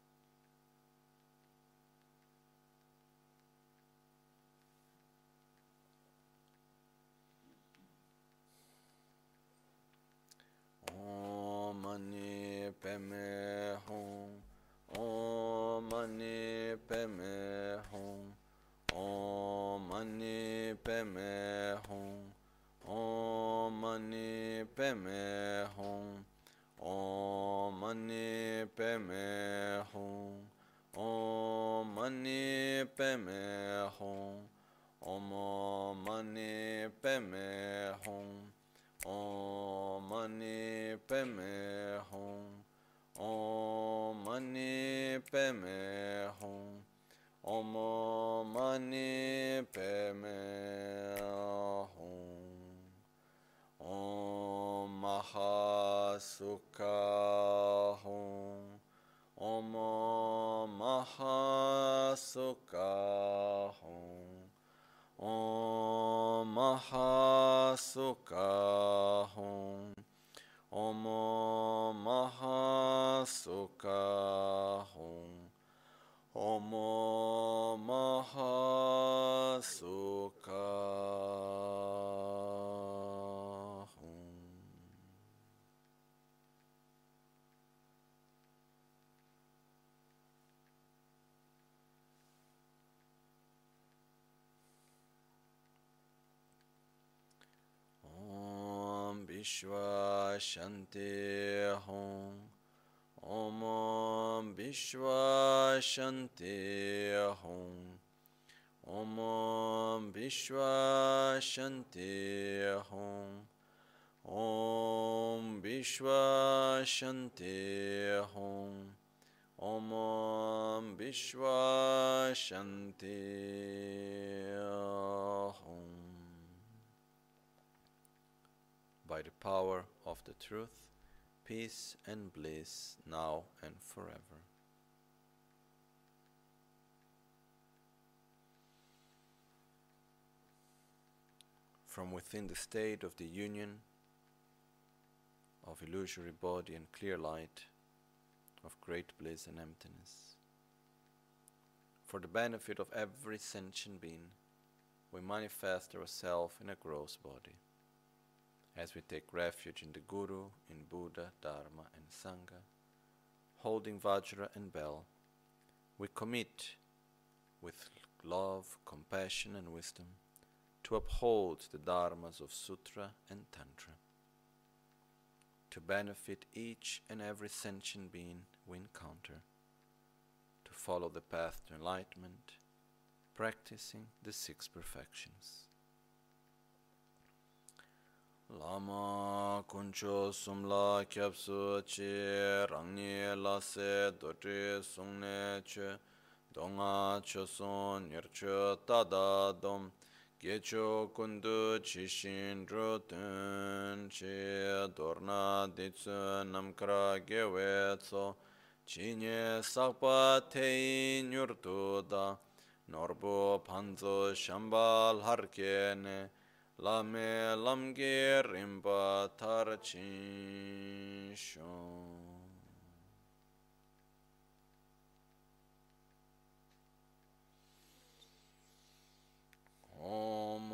Om Mani Padme Hum, Om Mani Padme Hum, Om Mani Padme Hum, Om Mani Padme Hum, Om Mani Padme Hum, Om Mani Padme Hum, Om Mani Padme Hum, Om Mani Padme Hum, Om Mani Padme Hum, Om Mani Padme Hum, Om Mahasukha Hum, Om Mahasukha Hum, Om Mahasukha Hum, Om Mahasukha Hum, Om Mahasukha Hum. Vishwa Shanti Hum. Om Vishwa Shanti Hum. Om Vishwa Shanti Hum. Om Vishwa Shanti Hum. Om Vishwa Shanti Hum. By the power of the truth, peace and bliss now and forever. From within the state of the union of illusory body and clear light, of great bliss and emptiness, for the benefit of every sentient being, we manifest ourselves in a gross body. As we take refuge in the Guru, in Buddha, Dharma and Sangha, holding Vajra and bell, we commit with love, compassion and wisdom to uphold the Dharmas of Sutra and Tantra, to benefit each and every sentient being we encounter, to follow the path to enlightenment, practicing the six perfections. Lama kuncho sumla kyapsu chi rangni la se dodri sungne che donga che son nircho tada dom gecho kundu chi shin rutun chi dorna ditsu namkra gewe tso chi nye sakpa tei nyurtu da norbo panzo shambal harkene Lame lamge rimba tarachin shon. Om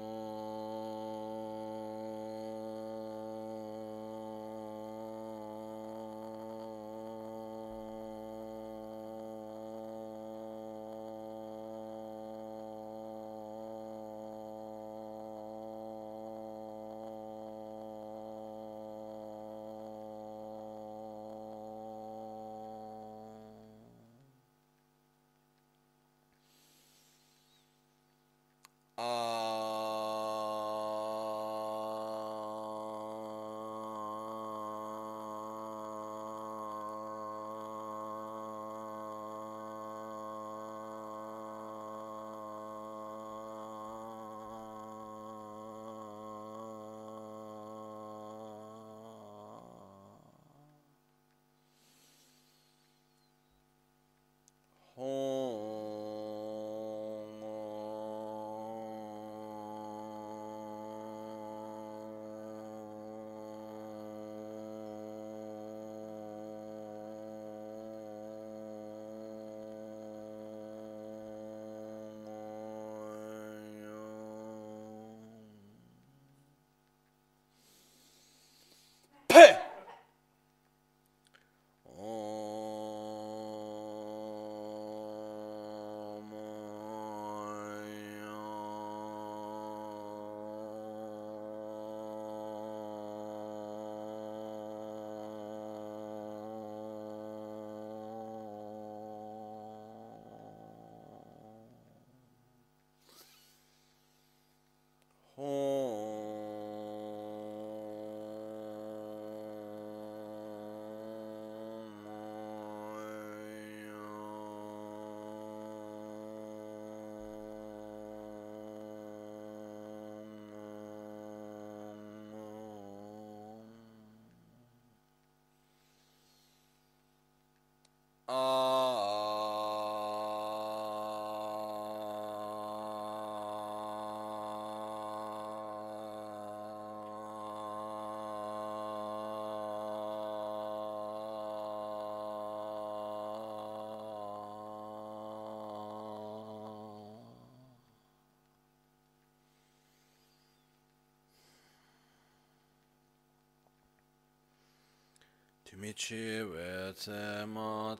Michi wetse ma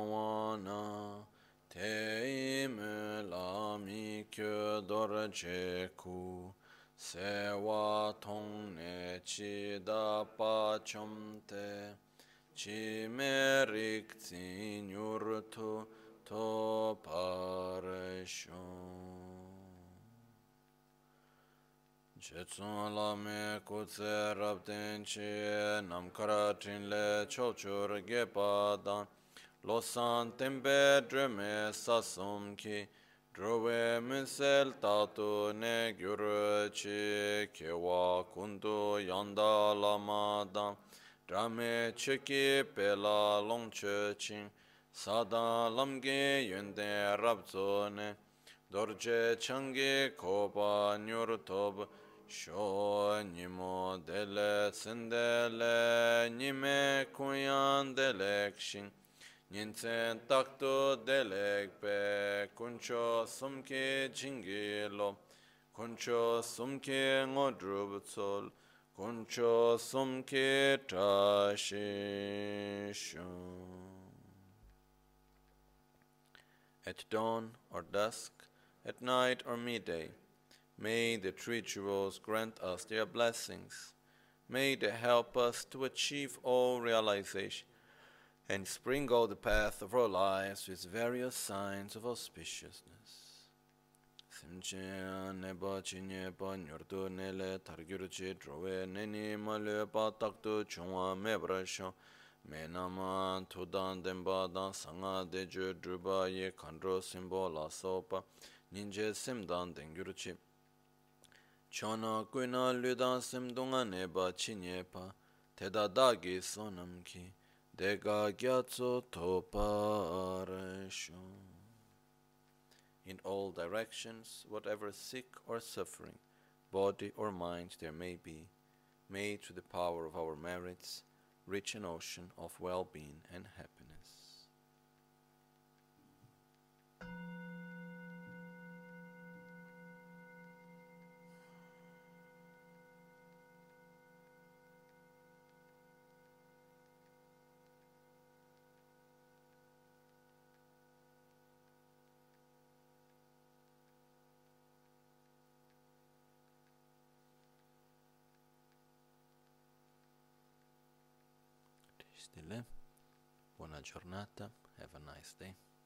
tongwana te ime la mi kyo dora je ku sewa tong ne chi da pa chom te chi me rik tsin yur tu to pare shon Jetsun la me kutse rab ten chi nam kara trin le chol chur ge pa dan lo san tembe dreme sasum ki drove minsel tatu ne gyur chi kewa kundu yanda lama dan drame chiki pela long che ching sadan lamge yunde rab zo ne dorje changi kopa nyur tob Sho nimo dele sendele nime kuyan delek shin Ninsen takto delek pe kuncho sumke jingilo Kuncho sumke ngodrub tsol Kuncho sumke tashisho At dawn or dusk, at night or midday, may the three jewels grant us their blessings. May they help us to achieve all realization and sprinkle the path of our lives with various signs of auspiciousness. Simche neba chinyepa nyordu nele targyurchi drove neni malyepa taktu chungwa mebrasho Menama tudan demba dan sanga deju druba ye kandro simbo la sopa ninje simdan dengyurchi Chona kuina ludan simdunga neba chinyepa teda dagi sonamki dega gyatso toparesho In all directions, whatever sick or suffering, body or mind there may be, may through the power of our merits reach an ocean of well-being and happiness. Stille. Buona giornata. Have a nice day.